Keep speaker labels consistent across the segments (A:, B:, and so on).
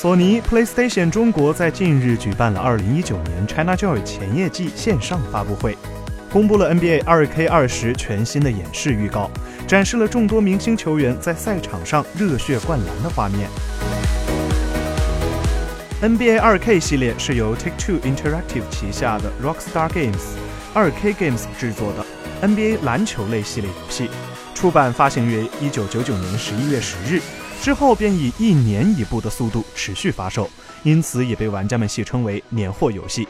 A: 索尼 PlayStation 中国在近日举办了2019年 ChinaJoy 前夜季线上发布会，公布了 NBA 2K20 全新的演示预告，展示了众多明星球员在赛场上热血灌篮的画面。NBA 2K 系列是由 Take-Two Interactive 旗下的 Rockstar Games、2K Games 制作的 NBA 篮球类系列游戏，出版发行于1999年11月10日，之后便以1年1部的速度持续发售，因此也被玩家们戏称为年货游戏。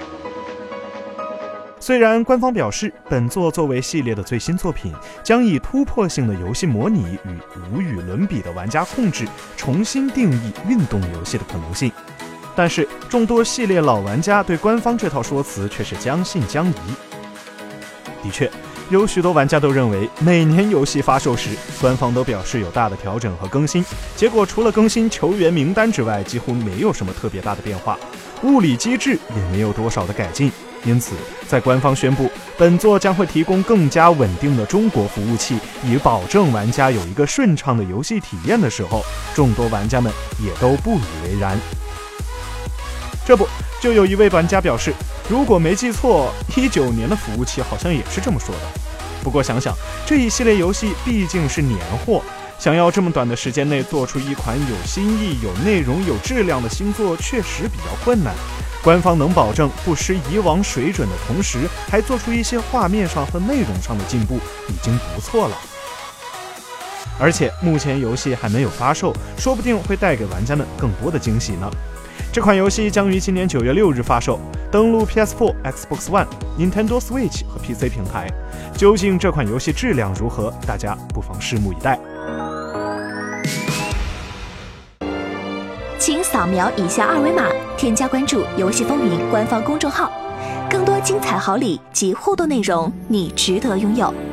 A: 虽然官方表示本作作为系列的最新作品，将以突破性的游戏模拟与无与伦比的玩家控制重新定义运动游戏的可能性，但是众多系列老玩家对官方这套说辞却是将信将疑。的确，有许多玩家都认为每年游戏发售时，官方都表示有大的调整和更新，结果除了更新球员名单之外，几乎没有什么特别大的变化，物理机制也没有多少的改进。因此在官方宣布本作将会提供更加稳定的中国服务器，以保证玩家有一个顺畅的游戏体验的时候，众多玩家们也都不以为然。这不，就有一位玩家表示，如果没记错，19年的服务器好像也是这么说的。不过想想，这一系列游戏毕竟是年货，想要这么短的时间内做出一款有新意、有内容、有质量的新作，确实比较困难。官方能保证不失以往水准的同时，还做出一些画面上和内容上的进步，已经不错了。而且目前游戏还没有发售，说不定会带给玩家们更多的惊喜呢。这款游戏将于今年9月6日发售，登陆 PS4、Xbox One、Nintendo Switch 和 PC 平台。究竟这款游戏质量如何，大家不妨拭目以待。
B: 请扫描以下2维码，添加关注游戏风云官方公众号，更多精彩好礼及互动内容，你值得拥有。